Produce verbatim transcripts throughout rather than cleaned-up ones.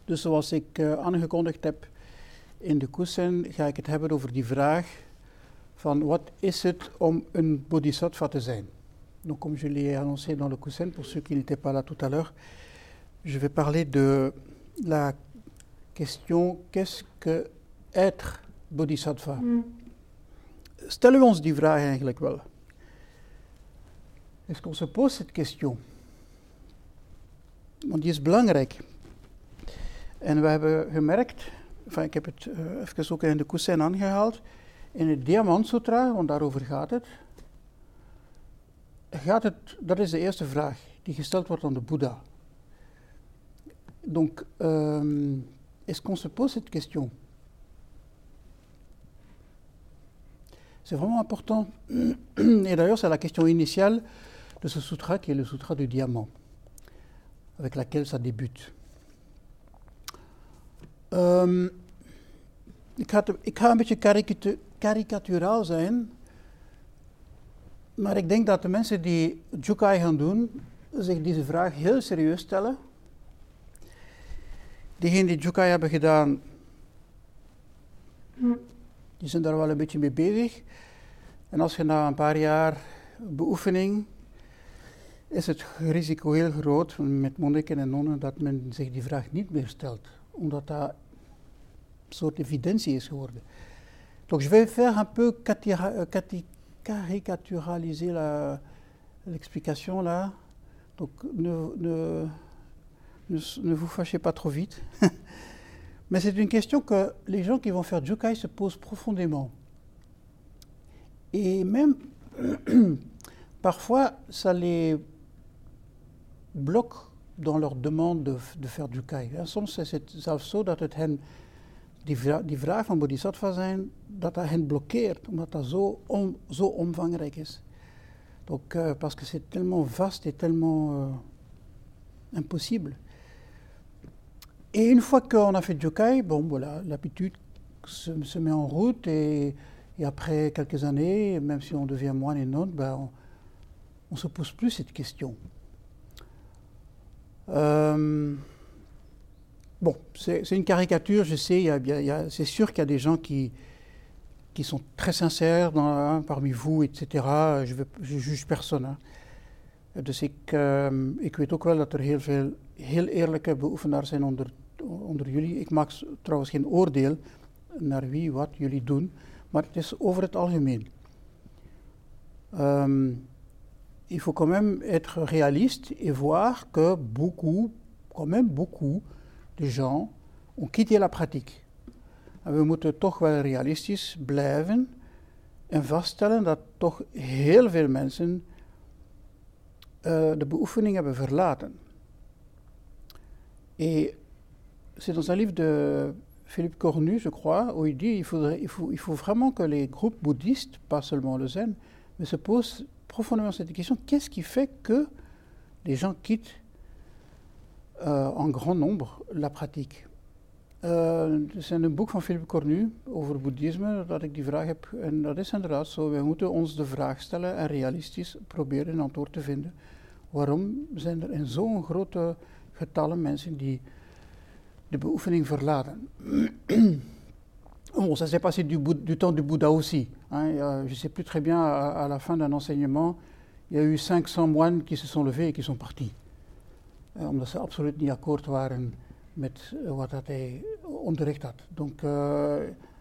Dus zoals ik uh, aangekondigd heb in de kussen, ga ik het hebben over die vraag van wat is het om een bodhisattva te zijn. Donc comme je l'ai annoncé dans le kussen, pour ceux qui n'étaient pas là tout à l'heure, je vais parler de la question qu'est-ce que être bodhisattva. Mm. Stellen we ons die vraag eigenlijk wel? Est-ce qu'on se pose cette question? Want die is belangrijk. En we hebben gemerkt, enfin, ik heb het uh, even ook in de kussen aangehaald, in het Diamant Sutra, want daarover gaat het, gaat het, dat is de eerste vraag die gesteld wordt aan de Boeddha. Donc, euh, est-ce qu'on se pose cette question? C'est vraiment important. Et d'ailleurs, c'est la question initiale de ce sutra, qui est le sutra du diamant, avec laquelle ça débute. Um, ik, ga te, ik ga een beetje karikatu- karikaturaal zijn, maar ik denk dat de mensen die Jukai gaan doen, zich deze vraag heel serieus stellen. Diegenen die Jukai hebben gedaan, die zijn daar wel een beetje mee bezig. En als je na een paar jaar beoefening, is het risico heel groot met monniken en nonnen dat men zich die vraag niet meer stelt. Omdat dat een soort evidentie is geworden. Donc je vais faire un peu catira- cati- caricaturaliser la, l'explication là. Donc ne, ne, ne, ne vous fâchez pas trop vite. Mais c'est une question que les gens qui vont faire Jukai se posent profondément. Et même, parfois, ça les bloque dans leur demande de, de faire Jukai. Ja, soms is het zelfs zo dat het hen, die, vra- die vraag van bodhisattva zijn, dat dat hen blokkeert, omdat dat zo, om, zo omvangrijk is. Donc, euh, parce que c'est tellement vaste et tellement euh, impossible. Et une fois qu'on a fait Jukai, bon voilà, l'habitude se, se met en route et, et après quelques années, même si on devient moine et nonne, ben on ne se pose plus cette question. Euh, bon, c'est, c'est une caricature, je sais, y a, y a, c'est sûr qu'il y a des gens qui, qui sont très sincères dans, hein, parmi vous, et cetera. Je ne juge personne. Hein. Dus ik, uh, ik weet ook wel dat er heel veel heel eerlijke beoefenaars zijn onder, onder jullie. Ik maak trouwens geen oordeel naar wie wat jullie doen, maar het is over het algemeen. Um, il faut quand même être réaliste et voir que beaucoup, quand même beaucoup de gens ont quitté la pratique. En we moeten toch wel realistisch blijven en vaststellen dat toch heel veel mensen uh, de beoefening hebben verlaten. Et c'est dans un livre de Philippe Cornu, je crois, où il dit il faudrait, il faut, il faut vraiment que les groupes bouddhistes, pas seulement le zen, mais se posent profondément cette question, qu'est-ce qui fait que les gens quittent euh, en grand nombre la pratique? Uh, er is een boek van Philippe Cornu over boeddhisme dat ik die vraag heb, en dat is inderdaad zo, wij moeten ons de vraag stellen en realistisch proberen een antwoord te vinden. Waarom zijn er in zo'n grote getallen mensen die de beoefening verlaten? Bon, ça s'est passé du, du temps du Bouddha aussi. Hein, je ne sais plus très bien, à, à la fin d'un enseignement, il y a eu cinq cents moines qui se sont levés et qui sont partis. Euh, omdat ze absoluut niet akkoord waren met uh, wat dat hij onderricht had. Donc, uh,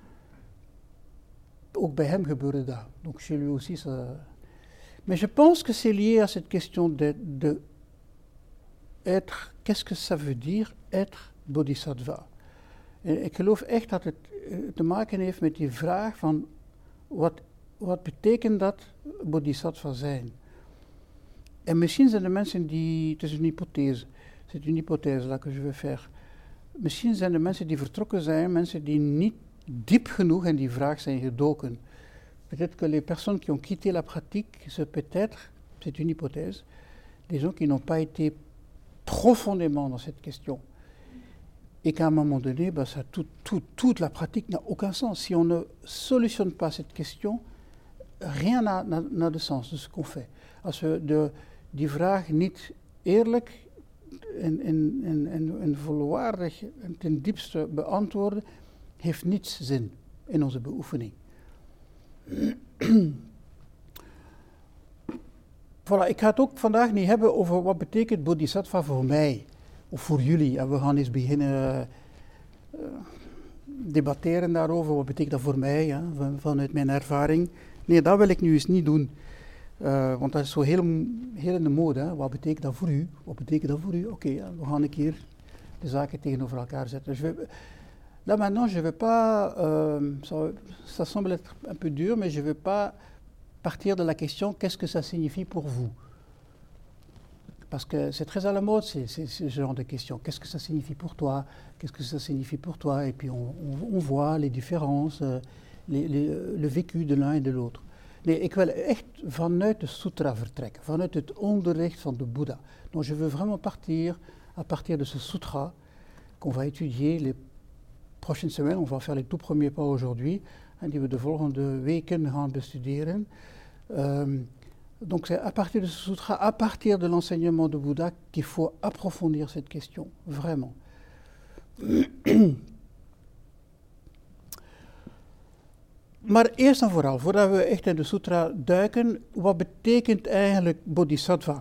ook bij hem gebeurde dat. Donc chez lui aussi, ça... Mais je pense que c'est lié à cette question de, de être, qu'est-ce que ça veut dire être bodhisattva? En ik geloof echt dat het uh, te maken heeft met die vraag van wat, wat betekent dat bodhisattva zijn? En misschien zijn de mensen die, het is een hypothese, c'est une hypothèse là que je vais faire. Misschien zijn de mensen die vertrokken zijn, mensen die niet diep genoeg in die vraag zijn gedoken. Peut-être que les personnes qui ont quitté la pratique, c'est peut-être, c'est une hypothèse, des gens qui n'ont pas été profondément dans cette question. Et qu'à un moment donné, ben ça, tout, tout, toute la pratique n'a aucun sens. Si on ne solutionne pas cette question, rien n'a, n'a, n'a de sens de ce qu'on fait. Als we de, die vraag niet eerlijk en, en, en, en, en volwaardig en ten diepste beantwoorden, heeft niets zin in onze beoefening. Voilà, ik ga het ook vandaag niet hebben over wat betekent bodhisattva voor mij of voor jullie. En we gaan eens beginnen uh, debatteren daarover. Wat betekent dat voor mij, ja, van, vanuit mijn ervaring? Nee, dat wil ik nu eens niet doen. Uh, want dat is zo heel, heel in de mode. Hè. Wat betekent dat voor u? Wat betekent dat voor u? Oké, okay, ja, we gaan een keer de zaken tegenover elkaar zetten. Dus we, là maintenant, je ne vais pas, euh, ça, ça semble être un peu dur, mais je ne vais pas partir de la question qu'est-ce que ça signifie pour vous? Parce que c'est très à la mode, c'est, c'est, c'est ce genre de questions. Qu'est-ce que ça signifie pour toi? Qu'est-ce que ça signifie pour toi? Et puis on, on, on voit les différences, les, les, le vécu de l'un et de l'autre. Nee, ik wil echt vanuit de sutra vertrekken, vanuit het onderricht van de Boeddha. Donc je veux vraiment partir à partir de ce sutra qu'on va étudier les prochaines semaines. On va faire les tout premiers pas aujourd'hui, hein, die we de volgende weken gaan bestuderen. Um, donc c'est à partir de ce sutra, à partir de l'enseignement de Bouddha, qu'il faut approfondir cette question, vraiment. Maar eerst en vooral, voordat we echt in de sutra duiken, wat betekent eigenlijk bodhisattva?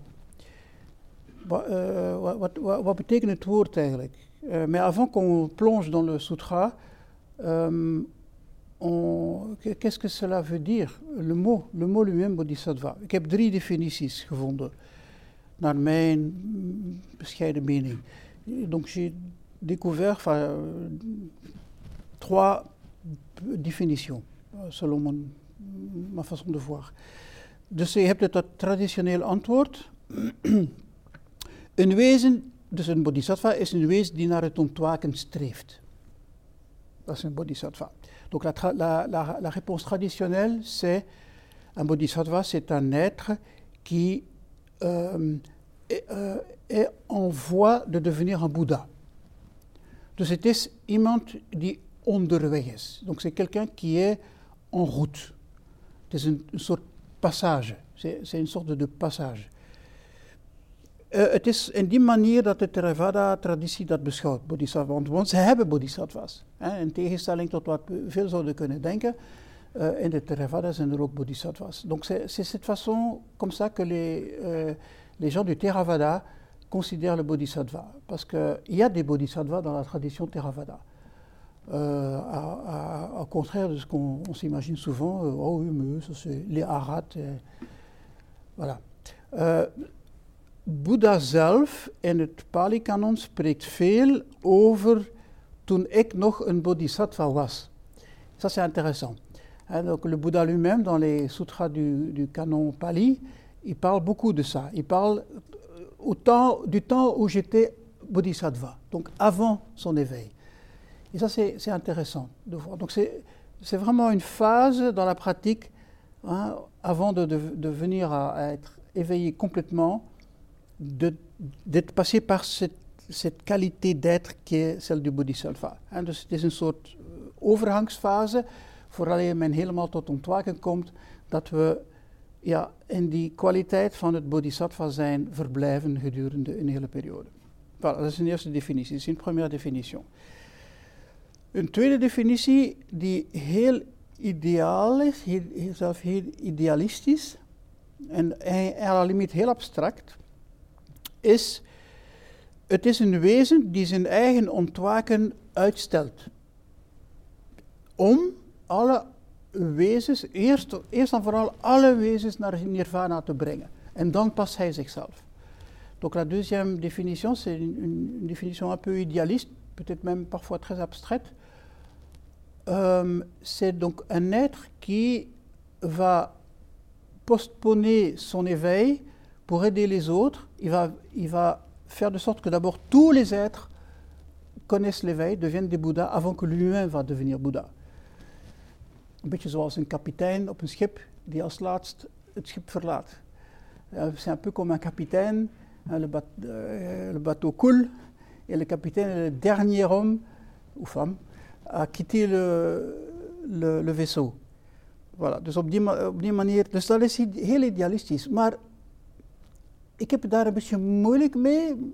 Wat, uh, wat, wat, wat betekent het woord eigenlijk? Uh, mais avant qu'on plonge dans le sutra, um, on, qu'est-ce que cela veut dire? Le mot, le mot lui-même, bodhisattva. Ik heb drie definities gevonden, naar mijn bescheiden mening. Donc j'ai découvert enfin, trois définitions, selon mon, ma façon de voir. Dus je hebt het traditioneel antwoord. Een wezen, dus een bodhisattva, is een wezen die naar het ontwaken streeft. Dat is een bodhisattva. Donc la, tra- la, la, la réponse traditionnelle, c'est un bodhisattva, c'est un être qui euh, est, euh, est en voie de devenir un Bouddha. Dus het is iemand die onderweg is. Donc c'est quelqu'un qui est en route. Het is een, een soort passage. C'est, c'est een soort de passage. Uh, het is in die manier dat de Theravada-traditie dat beschouwt, bodhisattva. Want, want ze hebben bodhisattvas. Hè, in tegenstelling tot wat we veel zouden kunnen denken, uh, in de Theravada zijn er ook bodhisattvas. Donc c'est, c'est cette façon, comme ça, que les, uh, les gens du Theravada considèrent le bodhisattva. Parce qu'il y a des bodhisattvas dans la tradition Theravada. Euh, à, à, au contraire de ce qu'on on s'imagine souvent, euh, oh oui, mais ça c'est les arhats. Euh, voilà. Uh, Boeddha zelf in het Pali-kanon spreekt veel over toen ik nog een bodhisattva was. Ça c'est intéressant. Hein, donc le Bouddha lui-même, dans les sutras du, du canon Pali, il parle beaucoup de ça. Il parle au temps, du temps où j'étais bodhisattva, donc avant son éveil. Et ça c'est, c'est intéressant de voir. Donc c'est, c'est vraiment une phase dans la pratique, hein, avant de, de, de venir à, à être éveillé complètement, De, d'être passé par cette, cette qualité d'être qui est celle du bodhisattva. En dus het is een soort overgangsfase, vooraleer men helemaal tot ontwaken komt, dat we ja, in die kwaliteit van het bodhisattva zijn verblijven gedurende een hele periode. Voilà, dat is een eerste definitie, dat is een première definition. Een tweede definitie die heel ideaal is, heel, zelf heel idealistisch en, en à la limite heel abstract, is, het is een wezen die zijn eigen ontwaken uitstelt. Om alle wezens, eerst, eerst en vooral alle wezens naar nirvana te brengen. En dan pas hij zichzelf. Donc la deuxième définition, c'est une, une définition un peu idéaliste, peut-être même parfois très abstraite. Euh, c'est donc un être qui va postponer son éveil pour aider les autres. Il va, il va faire de sorte que d'abord tous les êtres connaissent l'éveil, deviennent des Bouddhas avant que lui-même va devenir Bouddha. Een beetje zoals een kapitein op een schip die als laatst het schip verlaat. Uh, c'est un peu comme un capitaine, hein, le, bat, euh, le bateau coule et le capitaine est le dernier homme ou femme à quitter le, le, le vaisseau. Voilà, dus op die, op die manier, dus dat is heel idealistisch. Maar ik heb daar een beetje moeilijk mee,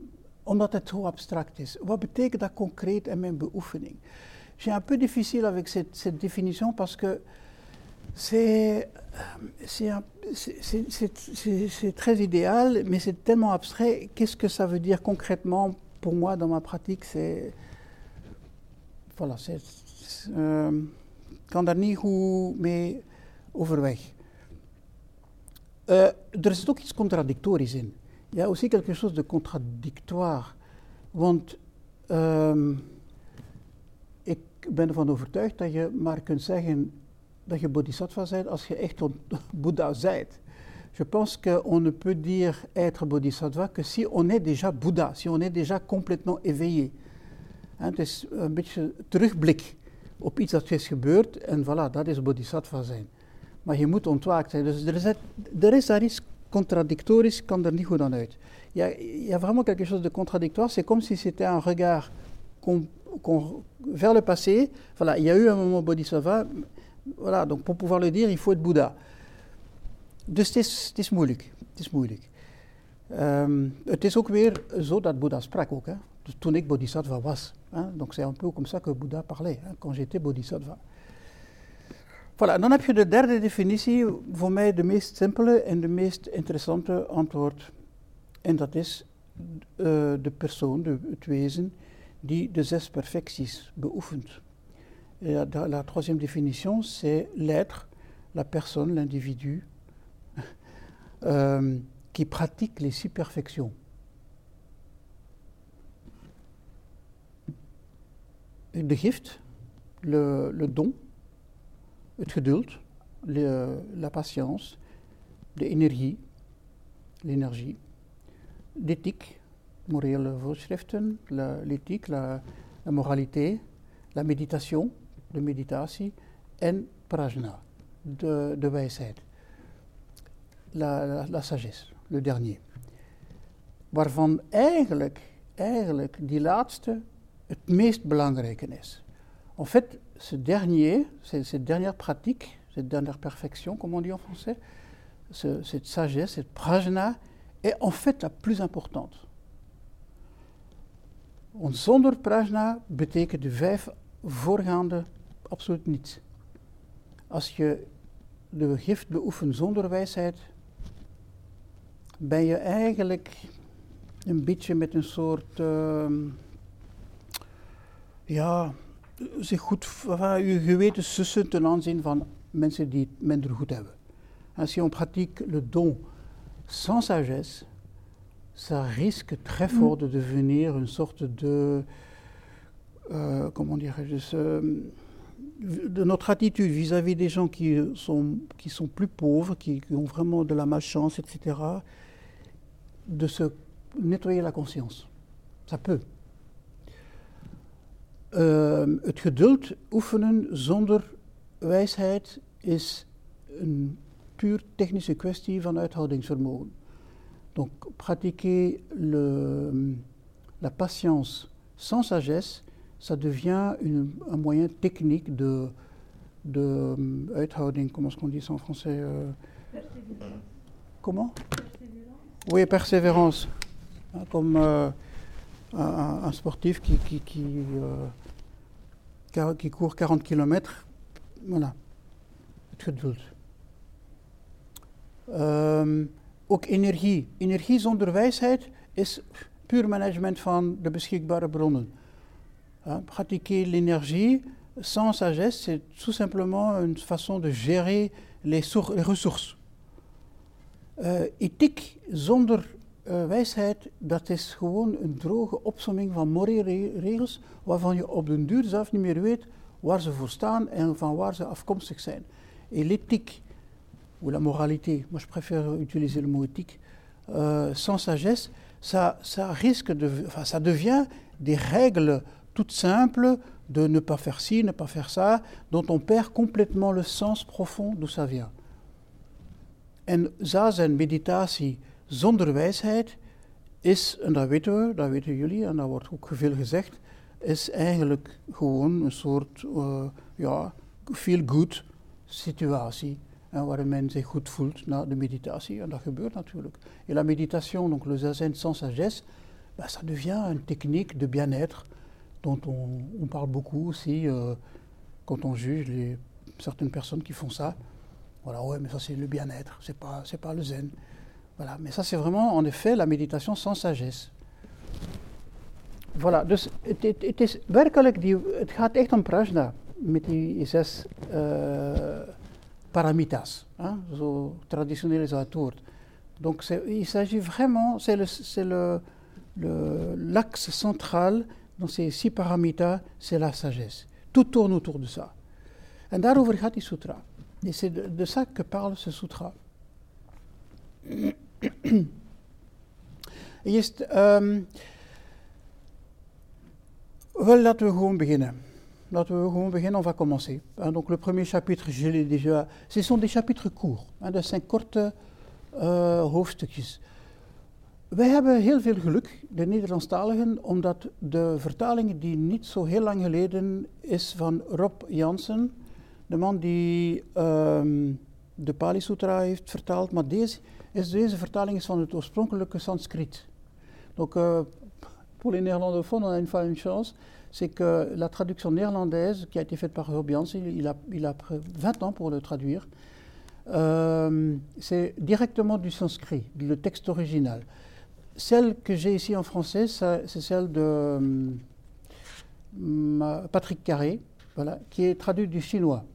omdat het zo abstract is. Wat betekent dat concreet in mijn beoefening? J'ai un peu difficile avec cette, cette définition parce que c'est, c'est, un, c'est, c'est, c'est, c'est, c'est très idéal, mais c'est tellement abstrait. Qu'est-ce que ça veut dire concrètement pour moi dans ma pratique? C'est, voilà, c'est, c'est, uh, kan daar niet goed mee overweg. Uh, er zit ook iets contradictorisch in. Il y a aussi quelque chose de contradictoire. Want um, ik ben ervan overtuigd dat je maar kunt zeggen dat je bodhisattva bent als je echt Bouddha bent. Je pense qu'on ne peut dire être bodhisattva que si on est déjà Bouddha, si on est déjà complètement éveillé. Hein, het is een beetje terugblik op iets dat is gebeurd en voilà, dat is bodhisattva zijn. Maar je moet ontwaakt zijn. Dus er is, er is daar iets contradictorisch, kan er niet goed aan uit. Il y a, il y a vraiment quelque chose de contradictoire. C'est comme si c'était un regard qu'on, qu'on, vers le passé. Voilà, il y a eu un moment bodhisattva. Voilà, donc pour pouvoir le dire, il faut être Bouddha. Dus het is, het is moeilijk. Het is moeilijk. Um, het is ook weer zo dat Bouddha sprak ook. Hè? Dus toen ik bodhisattva was. Hein? Donc c'est un peu comme ça que Bouddha parlait, hein? Quand j'étais bodhisattva. Voilà, dan heb je de derde definitie, voor mij de meest simpele en de meest interessante antwoord. En dat is uh, de persoon, de, het wezen, die de zes perfecties beoefent. La, la troisième définition, c'est l'être, la personne, l'individu, euh, qui pratique les six perfections. De gift, le, le don, het geduld, le, la patience, de energie, l'énergie, l'éthique, morele voorschriften, la, l'éthique, la, la moralité, la méditation, de meditatie, en prajna, de, de wijsheid, la, la, la sagesse, le dernier. Waarvan eigenlijk, eigenlijk die laatste het meest belangrijke is. En fait, ce dernier, cette dernière pratique, cette dernière perfection, comme on dit en français, ce, cette sagesse, cette prajna, est en fait la plus importante. Want zonder prajna betekent de vijf voorgaande absoluut niets. Als je de gift beoefent zonder wijsheid, ben je eigenlijk een beetje met een soort, uh, ja, zich goed, enfin, je geweten sussen ten aanzien van mensen die het minder goed hebben. En si on pratique le don sans sagesse, ça risque très fort de devenir une sorte de, euh, comment dirais-je, euh, de notre attitude vis-à-vis des gens qui sont, qui sont plus pauvres, qui, qui ont vraiment de la malchance, et cetera, de se nettoyer la conscience. Ça peut. Uh, het geduld oefenen zonder wijsheid is een puur technische kwestie van uithoudingsvermogen. Donc, pratiquer le, la patience sans sagesse, ça devient une, un moyen technique de, de um, uithouding, comment est-ce qu'on dit ça en français euh, Persévérance. Comment Persévérance. Oui, persévérance. Hein, comme euh, un, un sportif qui, qui, qui, euh, qui court quarante kilomètres, voilà, het geduld. Um, ook energie. Energie zonder wijsheid is puur management van de beschikbare bronnen. Uh, pratiquer l'énergie sans sagesse, c'est tout simplement une façon de gérer les, sour- les ressources. Uh, ethiek zonder uh, wijsheid, dat is gewoon een droge opsomming van morele regels waarvan je op den duur zelf niet meer weet waar ze voor staan en van waar ze afkomstig zijn. Et l'éthique, ou la moralité, moi je préfère utiliser le mot éthique, euh, sans sagesse, ça, ça risque de, enfin, ça devient des règles toutes simples de ne pas faire ci, ne pas faire ça, dont on perd complètement le sens profond d'où ça vient. En zazen, meditatie zonder wijsheid is, en dat weten we, dat weten jullie, en dat wordt ook veel gezegd, is eigenlijk gewoon een soort, uh, ja, feel-good situatie. En waarin men zich goed voelt na de meditatie. En dat gebeurt natuurlijk. Et la méditation, donc le zazen sans sagesse, ben, ça devient une technique de bien-être dont on, on parle beaucoup aussi euh, quand on juge les, certaines personnes qui font ça. Voilà, ouais, mais ça c'est le bien-être, c'est pas, c'est pas le zen. Voilà, mais ça c'est vraiment en effet la méditation sans sagesse. Voilà, dus het, het, het is werkelijk, die, het gaat echt om prajna met die zes uh, paramitas, hein, zo traditionneel is dat het woord. Donc il s'agit vraiment, c'est le, c'est le, le, l'axe central dans ces six paramitas, c'est la sagesse. Tout tourne autour de ça. En daarover gaat die sutra. Et c'est de, de ça que parle ce sutra. Eerst, um, wel, laten we gewoon beginnen. Laten we gewoon beginnen, on va commencer. Hein, donc le premier chapitre, je l'ai déjà... Ce sont des chapitres courts, hein, dat zijn korte uh, hoofdstukjes. Wij hebben heel veel geluk, de Nederlandstaligen, omdat de vertaling die niet zo heel lang geleden is van Rob Jansen, de man die um, de Pali Sutra heeft vertaald, maar deze, is, deze vertaling is van het oorspronkelijke Sanskriet. Donc, euh, pour les néerlandophones, on a une fois une chance, c'est que la traduction néerlandaise qui a été faite par Rob Jansen, il a, il a pris vingt ans pour le traduire, euh, c'est directement du sanskrit, le texte original. Celle que j'ai ici en français, ça, c'est celle de um, Patrick Carré, voilà, qui est traduite du chinois.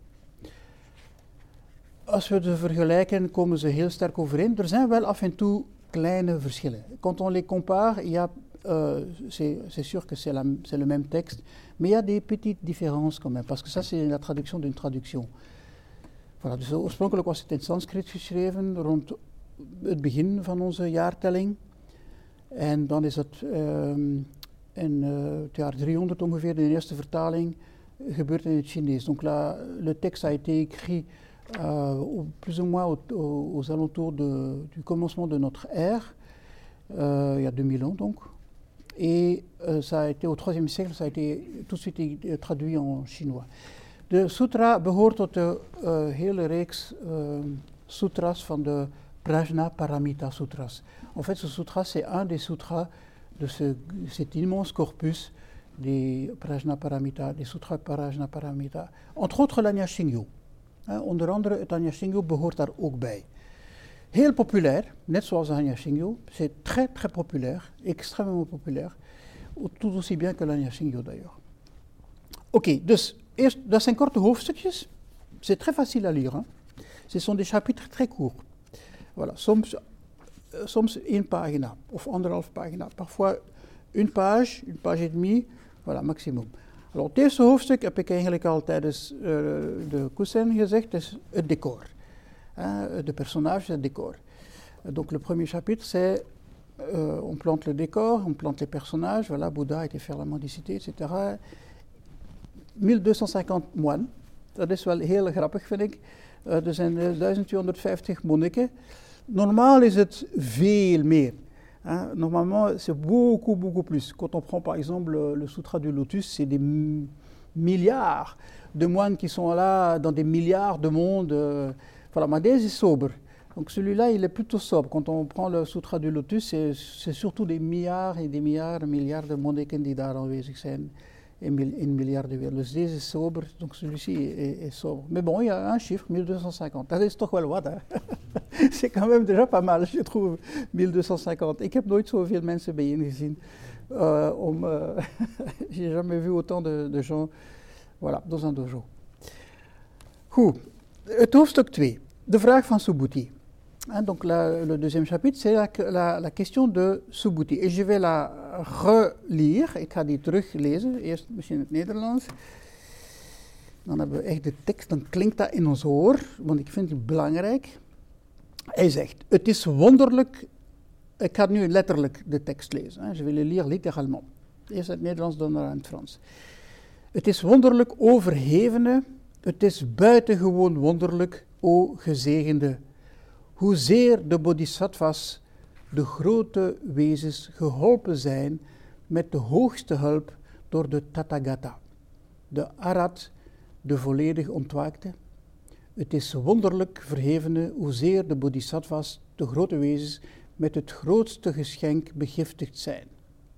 Als we ze vergelijken, komen ze heel sterk overeen. Er zijn wel af en toe kleine verschillen. Quand on les compare, il y a, euh, c'est, c'est sûr que c'est, la, c'est le même texte, mais il y a des petites différences quand même, parce que ça c'est la traduction d'une traduction. Voilà, dus oorspronkelijk was het in Sanskriet geschreven, rond het begin van onze jaartelling. En dan is het um, in uh, het jaar driehonderd ongeveer, de eerste vertaling, gebeurt in het Chinees. Donc la, le texte a été écrit euh, au, plus ou moins au, au, aux alentours de, du commencement de notre ère, euh, il y a deux mille ans donc. Et euh, ça a été au troisième siècle, ça a été tout de suite traduit en chinois. De sutra behoort tot de uh, hele reeks uh, sutras van de Prajna Paramita Sutras. En fait, ce sutra, c'est un des sutras de ce, cet immense corpus des Prajna Paramita, des sutras Prajna Paramita. Entre autres l'Anyashingyo. Hein, onder andere het Anyashingyo behoort daar ook bij. Heel populair, net zoals l'Anyashingyo. C'est très très populaire, extrêmement populaire. Tout aussi bien que l'Anyashingyo d'ailleurs. Oké, okay, dus eerst, dat zijn korte hoofdstukjes. C'est très facile à lire. Hein. Ce sont des chapitres très courts. Voilà, soms, uh, soms één pagina of anderhalf pagina. Parfois une page, une page et demie, voilà, maximum. Alors, het eerste hoofdstuk heb ik eigenlijk al tijdens uh, de Kusen gezegd, is het decor. Hein, de personnage, het decor. Uh, donc, le premier chapitre, c'est uh, on plante le décor, on plante les personnages, voilà, Bouddha a été faire la mendicité, et cetera. mille deux cent cinquante moines, dat is wel heel grappig, vind ik. Uh, er zijn uh, duizend tweehonderdvijftig monniken. Normaal is het veel meer. Hein? Normalement, c'est beaucoup, beaucoup plus. Quand on prend par exemple le, le Sutra du Lotus, c'est des m- milliards de moines qui sont là dans des milliards de mondes. Euh, voilà, maar deze is sober. Donc celui-là, il est plutôt sobre. Quand on prend le Sutra du Lotus, c'est, c'est surtout des milliards et des milliards, milliards de monniken die daar aanwezig zijn. In miljarden weer. Dus deze is sober, donc celui-ci est, est sobre. Mais bon, il y a un chiffre, mille deux cent cinquante. Dat is toch wel wat, hè? C'est quand même déjà pas mal, je trouve, mille deux cent cinquante. Ik heb nooit zoveel mensen bijeen gezien. Uh, om, uh, j'ai jamais vu autant de, de gens, voilà, dans un dojo. Goed, het hoofdstuk twee. De vraag van Subhuti. Hein, donc la, le deuxième chapitre, c'est la, la, la question de Subhuti. Et je vais la relire. Ik ga die teruglezen. Eerst misschien het Nederlands. Dan hebben we echt de tekst. Dan klinkt dat in ons oor. Want ik vind het belangrijk. Hij zegt, het is wonderlijk. Ik ga nu letterlijk de tekst lezen. Hein, je vais le lire littéralement. Eerst het Nederlands, dan naar het Frans. Het is wonderlijk, o verhevene. Het is buitengewoon wonderlijk, o gezegende. Hoezeer de bodhisattvas, de grote wezens, geholpen zijn met de hoogste hulp door de Tathagata, de Arhat, de volledig ontwaakte. Het is wonderlijk, verhevene, hoezeer de bodhisattvas, de grote wezens, met het grootste geschenk begiftigd zijn.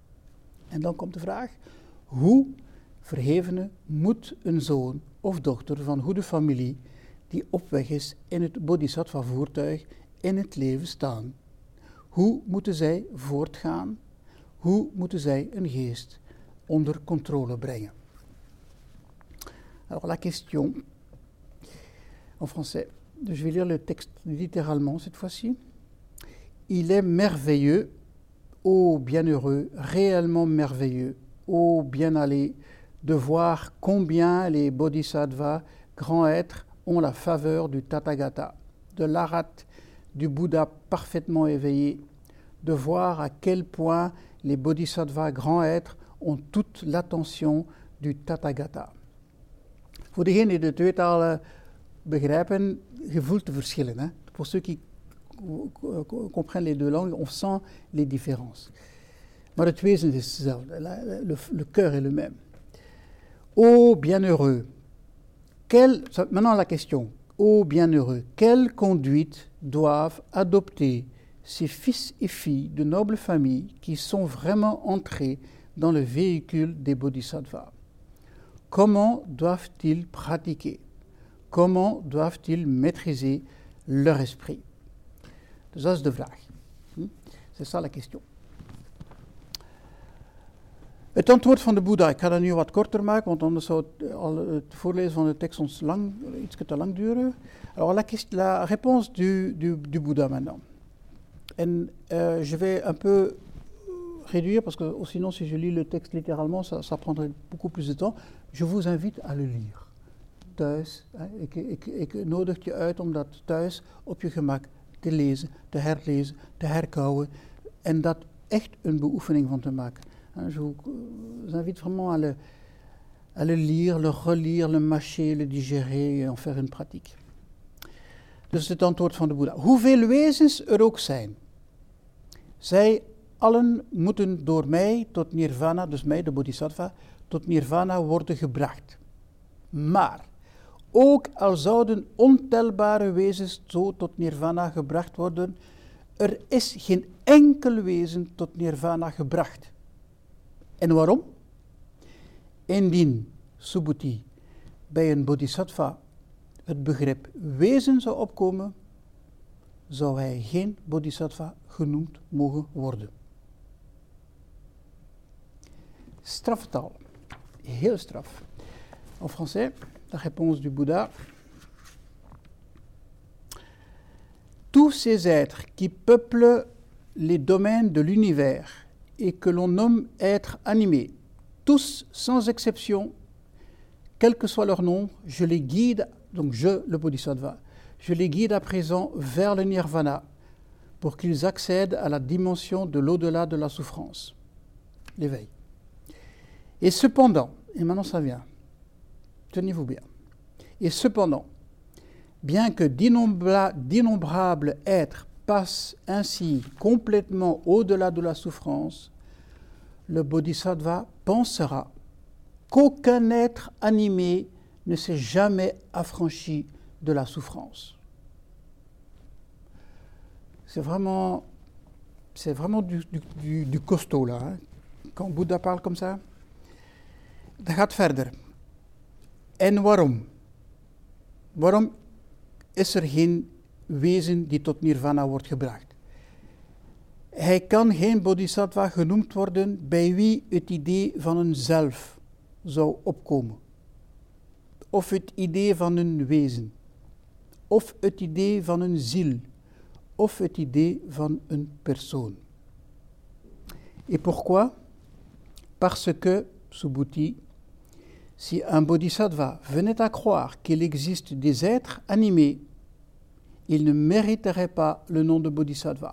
En dan komt de vraag, hoe verhevene moet een zoon of dochter van goede familie die op weg is in het bodhisattva voertuig in het leven staan? Hoe moeten zij voortgaan? Hoe moeten zij een geest onder contrôle brengen? Alors la question, en français, je vais lire le texte littéralement cette fois-ci. Il est merveilleux, ô bienheureux, réellement merveilleux, ô bien allé, de voir combien les bodhisattvas, grands êtres, ont la faveur du Tathagata, de l'Arat, du Bouddha parfaitement éveillé, de voir à quel point les bodhisattvas, grands êtres, ont toute l'attention du Tathagata. Voor degenen die de twee talen begrijpen, je voelt de verschillen. Hè? Pour ceux qui comprennent les deux langues, on sent les différences. Maar het wezen is hetzelfde, le, le, le cœur est le même. Ô bienheureux, quelle, maintenant la question, ô bienheureux, quelle conduite doivent adopter ces fils et filles de nobles familles qui sont vraiment entrés dans le véhicule des bodhisattvas? Comment doivent-ils pratiquer? Comment doivent-ils maîtriser leur esprit? Dus dat is de vraag. C'est ça la question. Het antwoord van de Boeddha, ik ga dat nu wat korter maken, want anders zou het, al het voorlezen van de tekst ons lang, iets te lang duren. Alors la, la réponse du, du, du Bouddha maintenant. En euh, je vais un peu réduire, parce que sinon si je lis le texte littéralement, ça, ça prendrait beaucoup plus de temps. Je vous invite à le lire. Thuis, hè, ik, ik, ik nodig je uit om dat thuis op je gemak te lezen, te herlezen, te herkauwen en dat echt een beoefening van te maken. Je vous invite vraiment à le, à le lire, le relire, le mâcher, le digérer et en faire une pratique. Dus het antwoord van de Boeddha. Hoeveel wezens er ook zijn, zij allen moeten door mij tot nirvana, dus mij, de bodhisattva, tot nirvana worden gebracht. Maar ook al zouden ontelbare wezens zo tot nirvana gebracht worden, er is geen enkel wezen tot nirvana gebracht. En waarom? Indien, Subhuti, bij een bodhisattva het begrip wezen zou opkomen, zou hij geen bodhisattva genoemd mogen worden. Straftaal. Heel straf. En français, la réponse du Bouddha. Tous ces êtres qui peuplent les domaines de l'univers et que l'on nomme êtres animés, tous sans exception, quel que soit leur nom, je les guide, donc je, le Bodhisattva, je les guide à présent vers le nirvana pour qu'ils accèdent à la dimension de l'au-delà de la souffrance, l'éveil. Et cependant, et maintenant ça vient, tenez-vous bien, et cependant, bien que d'innombra- d'innombrables êtres passent ainsi complètement au-delà de la souffrance, le Bodhisattva pensera qu'aucun être animé ne s'est jamais affranchi de la souffrance. C'est vraiment, c'est vraiment du, du, du, du costaud là. Hein. Quand Bouddha parle comme ça, dat gaat verder. En waarom? Waarom is er geen wezen die tot nirvana wordt gebracht? Hij kan geen bodhisattva genoemd worden bij wie het idee van een zelf zou opkomen. Of het idee van een wezen. Of het idee van een ziel. Of het idee van een persoon. Et pourquoi? Parce que, Subhuti, si un bodhisattva venait à croire qu'il existe des êtres animés, il ne mériterait pas le nom de bodhisattva.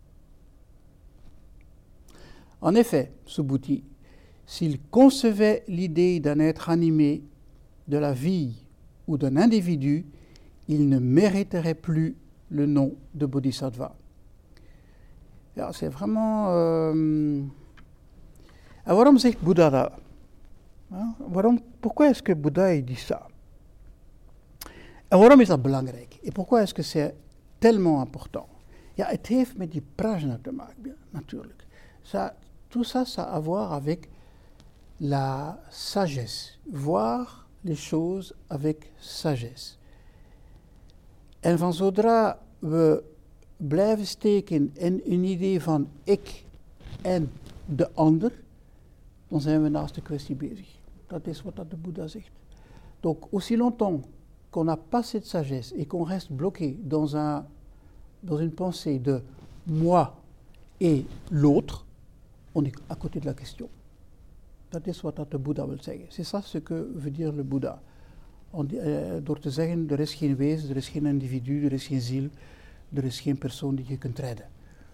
En effet, Subhuti, s'il concevait l'idée d'un être animé, de la vie ou d'un individu, il ne mériterait plus le nom de bodhisattva. Ja, c'est vraiment... Euh... En waarom zegt Boeddha dat? Ja, waarom, pourquoi est-ce que Boeddha dit ça? En waarom is dat belangrijk? Et pourquoi est-ce que c'est tellement important? Ja, het heeft met die prajna te maken, natuurlijk. Ça, tout ça, ça a à voir avec la sagesse, voir les choses avec sagesse. En van zodra we blijven steken in een idee van ik en de ander, dan zijn we naast de kwestie bezig. Dat is wat dat de Boeddha zegt. Donc, aussi longtemps qu'on n'a pas cette sagesse et qu'on reste bloqué dans, un, dans une pensée de moi et l'autre, on est à côté de la question. Dat is wat dat de Boeddha wil zeggen. C'est ça ce que veut dire le Boeddha. On, uh, door te zeggen, er is geen wezen, er is geen individu, er is geen ziel, er is geen persoon die je kunt redden.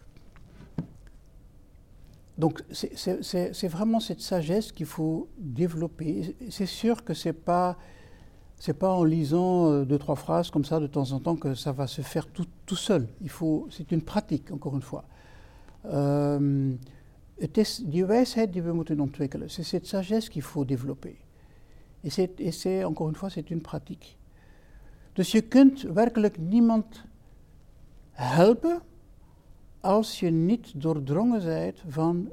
Donc c'est, c'est, c'est, c'est vraiment cette sagesse qu'il faut développer. C'est sûr que c'est pas, c'est pas en lisant euh, deux, trois phrases comme ça de temps en temps que ça va se faire tout, tout seul. Il faut, c'est une pratique, encore une fois. Um, het is die wijsheid die we moeten ontwikkelen. C'est cette sagesse qu'il faut développer. Et c'est, et c'est, encore une fois, c'est une pratique. Dus je kunt werkelijk niemand helpen als je niet doordrongen bent van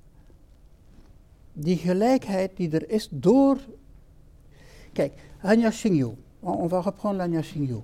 die gelijkheid die er is door... Kijk, Anya Shingyo, on va reprendre l'Anya Shingyo.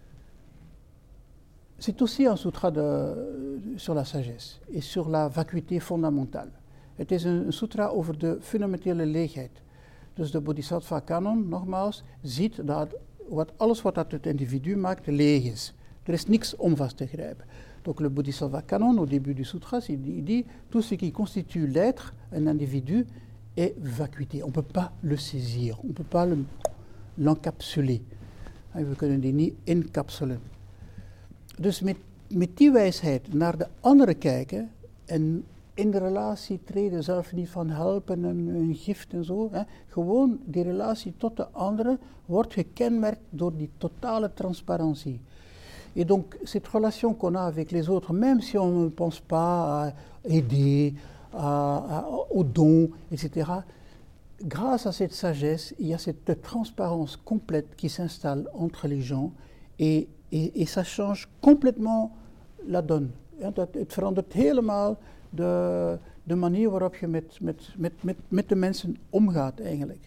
C'est aussi un sutra de, sur la sagesse et sur la vacuité fondamentale. Het is een, een sutra over de fundamentele leegheid. Dus de Bodhisattva Kanon, nogmaals, ziet dat wat, alles wat dat het individu maakt, leeg is. Er is niks om vast te grijpen. Donc le Bodhisattva Kanon, au début du sutra, il dit tout ce qui constitue l'être, un individu, est vacuité. On ne peut pas le saisir, on ne peut pas le, l'encapsuler. We kunnen die niet incapsulen. Dus met, met die wijsheid naar de anderen kijken en in de relatie treden, zelf niet van helpen en een gift en zo. Hè. Gewoon die relatie tot de anderen wordt gekenmerkt door die totale transparantie. Et donc cette relation qu'on a avec les autres, même si on ne pense pas à aider, à, à, aux dons, et cetera, grâce à cette sagesse, il y a cette transparence complète qui s'installe entre les gens et, et, et ça change complètement la donne. Het verandert helemaal de, de manier waarop je met, met, met, met, met de mensen omgaat eigenlijk.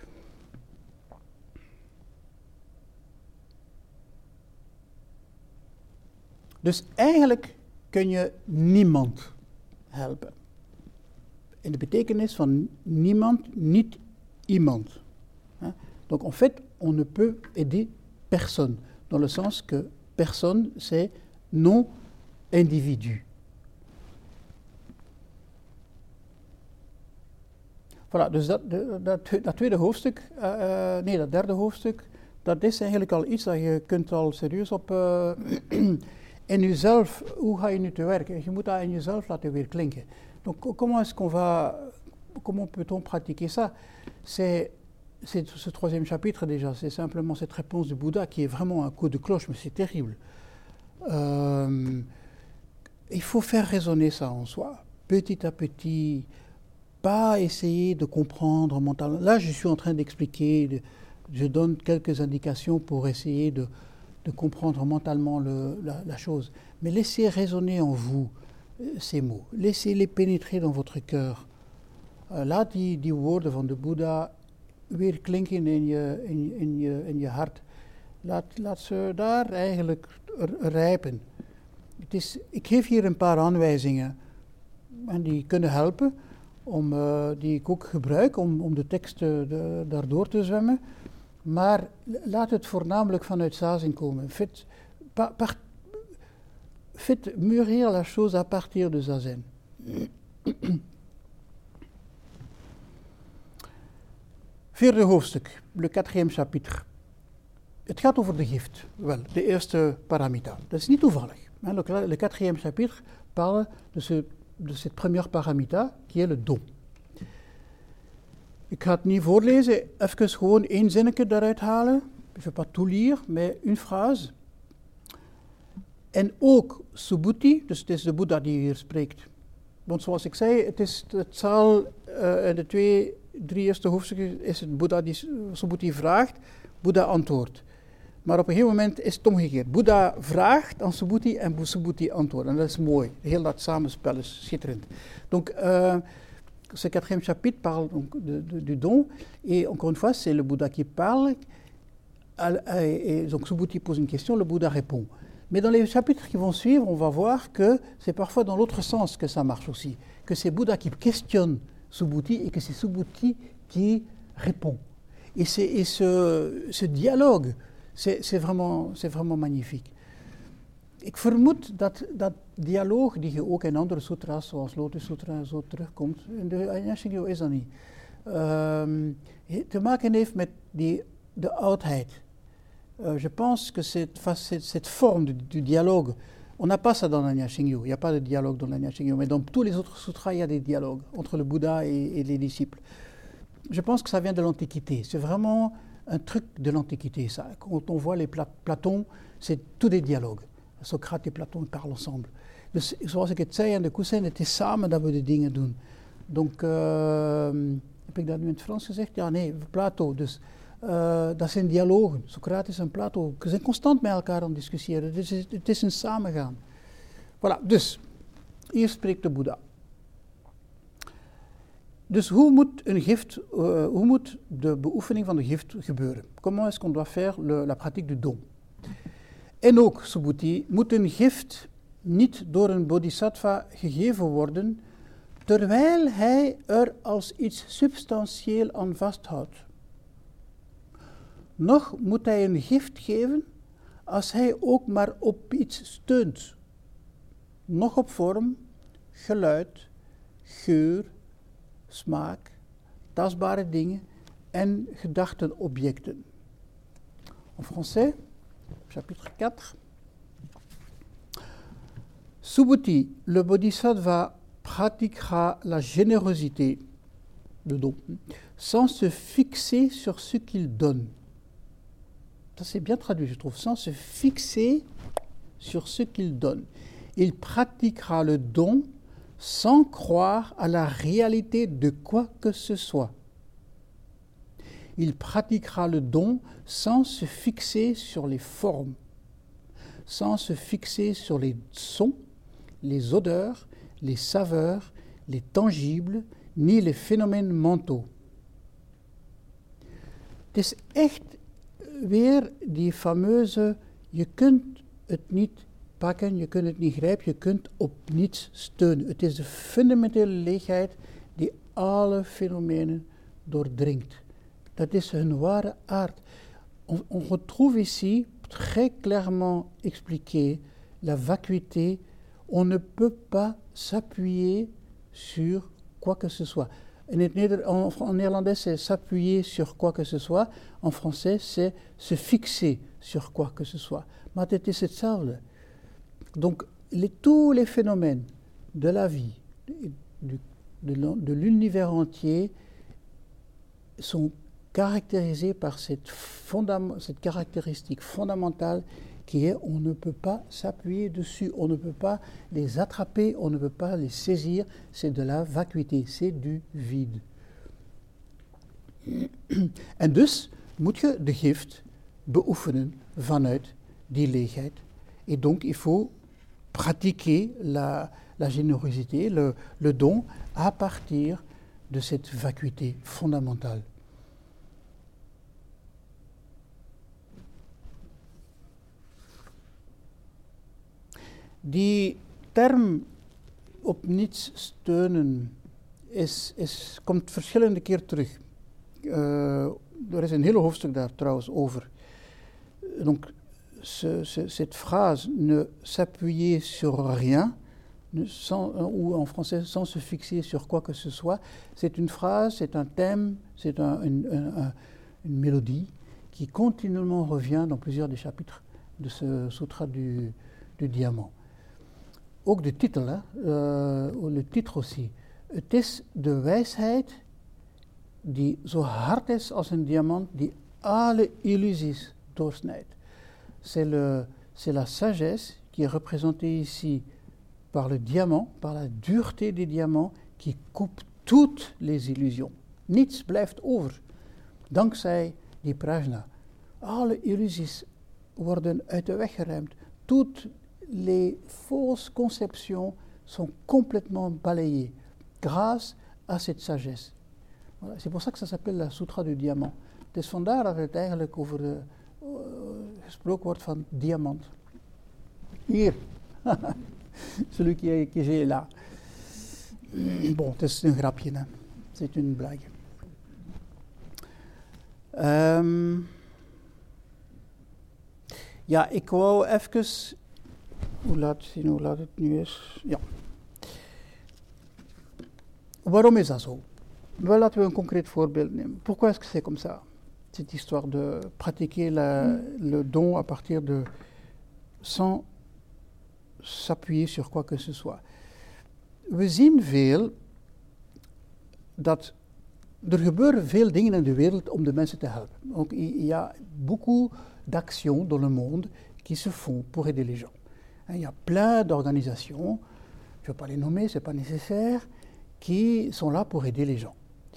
Dus eigenlijk kun je niemand helpen. In de betekenis van niemand, niet iemand. Donc en fait, on ne peut aider personne. Dans le sens que personne, c'est non-individu. Voilà, dus dat, dat, dat tweede hoofdstuk, uh, nee, dat derde hoofdstuk, dat is eigenlijk al iets dat je kunt al serieus op... Uh, in jezelf, hoe ga je nu te werken? Je moet dat in jezelf laten weer klinken. Donc comment est-ce qu'on va, comment peut-on pratiquer ça? C'est, c'est ce troisième chapitre déjà, c'est simplement cette réponse du Bouddha qui est vraiment un coup de cloche, mais c'est terrible. Euh, il faut faire résonner ça en soi, petit à petit, pas essayer de comprendre mentalement. Là, je suis en train d'expliquer, de, je donne quelques indications pour essayer de de comprendre mentalement le, la, la chose, mais laissez résonner en vous euh, ces mots, laissez-les pénétrer dans votre cœur. Uh, laat die, die woorden van de Boeddha weer klinken in je, in, in je, in je hart. Laat, laat ze daar eigenlijk r- rijpen. Het is, ik geef hier een paar aanwijzingen en die kunnen helpen, om, uh, die ik ook gebruik om, om de tekst uh, de, daardoor te zwemmen. Maar laat het voornamelijk vanuit zazen komen. Faites, par, par, faites mûrir la chose à partir de zazen. Vierde hoofdstuk, le quatrième chapitre. Het gaat over de gift. Wel, de eerste paramita. Dat is niet toevallig. Le, le quatrième chapitre parle de, ce, de cette première paramita, qui est le don. Ik ga het niet voorlezen, even gewoon één zinnetje daaruit halen. Je ne vais pas tout lire, mais une phrase. En ook Subhuti, dus het is de Boeddha die hier spreekt. Want zoals ik zei, het, is, het zal uh, in de twee, drie eerste hoofdstukken is het Boeddha die Subhuti vraagt, Boeddha antwoordt. Maar op een gegeven moment is het omgekeerd. Boeddha vraagt aan Subhuti en Subhuti antwoordt. En dat is mooi. Heel dat samenspel is schitterend. Donc, euh, ce quatrième chapitre parle donc de, de, du don. Et encore une fois, c'est le Bouddha qui parle. Et donc Subhuti pose une question, le Bouddha répond. Mais dans les chapitres qui vont suivre, on va voir que c'est parfois dans l'autre sens que ça marche aussi. Que c'est Bouddha qui questionne Subhuti et que c'est Subhuti qui répond. Et, c'est, et ce, ce dialogue, c'est, c'est, vraiment, c'est vraiment magnifique. Ik vermoed dat dat dialoog, die je ook in andere sutras, zoals Lotus Sutra, zo terugkomt, in de Ajna Shingyo is dat niet, um, te maken heeft met die, de oudheid. Uh, je pense que cette, cette, cette forme du, du dialogue, on n'a pas ça dans l'Ajna Shingyo, il n'y a pas de dialogue dans l'Ajna Shingyo, mais dans tous les autres sutras, il y a des dialogues entre le Bouddha et, et les disciples. Je pense que ça vient de l'Antiquité, c'est vraiment un truc de l'Antiquité, ça. Quand on voit les Pla- Platon, c'est tous des dialogues. Socrate en Platon parlent ensemble. Dus zoals ik het zei aan de Kusen, het is samen dat we de dingen doen. Donc, uh, heb ik dat nu in het Frans gezegd? Ja, nee, Plato. Dus uh, dat zijn dialogen. Socrates en Plato ze zijn constant met elkaar aan het discussiëren. Het is, het is een samengaan. Voilà, dus, hier spreekt de Boeddha. Dus hoe moet een gift, uh, hoe moet de beoefening van de gift gebeuren? Comment est-ce qu'on doit faire le, la pratique du don? En ook, Subhuti, moet een gift niet door een bodhisattva gegeven worden, terwijl hij er als iets substantieel aan vasthoudt. Nog moet hij een gift geven als hij ook maar op iets steunt. Nog op vorm, geluid, geur, smaak, tastbare dingen en gedachtenobjecten. En français, chapitre quatre. Subhuti, le bodhisattva pratiquera la générosité, le don, sans se fixer sur ce qu'il donne. Ça c'est bien traduit, je trouve, sans se fixer sur ce qu'il donne. Il pratiquera le don sans croire à la réalité de quoi que ce soit. Il pratiquera le don sans se fixer sur les formes, sans se fixer sur les sons, les odeurs, les saveurs, les tangibles, ni les phénomènes mentaux. Het is echt weer die fameuze, je kunt het niet pakken, je kunt het niet grijpen, je kunt op niets steunen. Het is de fundamentele leegheid die alle fenomenen doordringt. Dat is hun ware aard. On, on retrouve ici très clairement expliqué la vacuité. On ne peut pas s'appuyer sur quoi que ce soit. In het Neder- en, en néerlandais, c'est s'appuyer sur quoi que ce soit. En français, c'est se fixer sur quoi que ce soit. Maar het is hetzelfde. Donc, les, tous les phénomènes de la vie, du, de, de l'univers entier, sont caractérisés par cette, fondam- cette caractéristique fondamentale qui est on ne peut pas s'appuyer dessus, on ne peut pas les attraper, on ne peut pas les saisir, c'est de la vacuité, c'est du vide. En dus moet je de gift beoefenen vanuit die leegheid. Et donc il faut pratiquer la, la générosité, le, le don, à partir de cette vacuité fondamentale. Die term op niets steunen is, is, komt verschillende keer terug. Uh, er is een hele hoofdstuk daar trouwens over. Donc, ce, ce, cette phrase, ne s'appuyer sur rien, ne, sans, ou en français, sans se fixer sur quoi que ce soit, c'est une phrase, c'est un thème, c'est un, une, un, une mélodie qui continuellement revient dans plusieurs des chapitres de ce sutra du, du diamant. Ook de titel, hè? Uh, le titre aussi. Het is de wijsheid die zo hard is als een diamant, die alle illusies doorsnijdt. C'est, le, c'est la sagesse qui est représentée ici par le diamant, par la dureté des diamants, qui coupe toutes les illusions. Niets blijft over, dankzij die prajna. Alle illusies worden uit de weg geruimd. Toutes les fausses conceptions sont complètement balayées grâce à cette sagesse. Voilà. C'est pour ça que ça s'appelle la Sutra du Diamant. Het is vandaar dat het eigenlijk over de, uh, gesproken wordt van diamant. Hier, celui qui est, qui est là. Bon, het is een grapje, hè. C'est une blague. Um, ja, ik wou even... Hoe laat, zien hoe laat het nu is? Ja. Waarom is dat zo? Wel, laten we een concreet voorbeeld nemen. Pourquoi est-ce que c'est comme ça? Cette histoire de pratiquer la, le don à partir de... sans s'appuyer sur quoi que ce soit. We zien veel dat er gebeuren veel dingen in de wereld om de mensen te helpen. Donc, il y a beaucoup d'actions dans le monde qui se font pour aider les gens. Il y a plein d'organisations, je ne vais pas les nommer, ce n'est pas nécessaire, qui sont là pour aider les gens.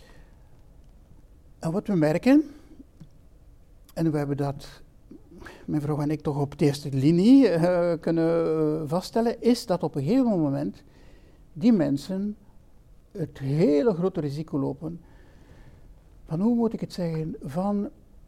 En wat we merken, en we hebben dat, mijn vrouw en ik toch op de eerste linie uh, kunnen vaststellen, is dat op een gegeven moment die mensen het hele grote risico lopen van, hoe moet ik het zeggen, van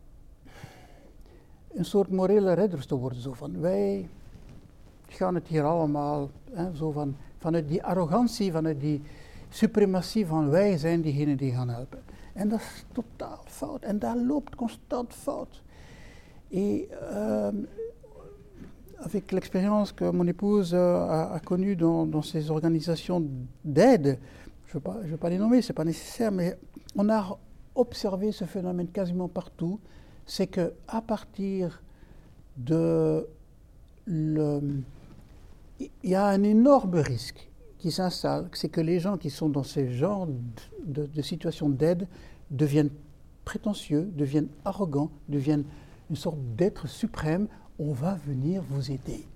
een soort morele redders te worden. Zo van, wij gaan het hier allemaal, hè, zo van, vanuit die arrogantie, vanuit die suprematie van wij zijn diegenen die gaan helpen. En dat is totaal fout. En dat loopt constant fout. Et euh, avec l'expérience que mon épouse euh, a, a connue dans, dans ces organisations d'aide, je ne vais pas les nommer, ce n'est pas nécessaire, mais on a observé ce phénomène quasiment partout, c'est qu'à partir de... Le, il y a un énorme risque qui s'installe, c'est que les gens qui sont dans ce genre de, de, de situation d'aide deviennent prétentieux, deviennent arrogants, deviennent une sorte d'être suprême. On va venir vous aider.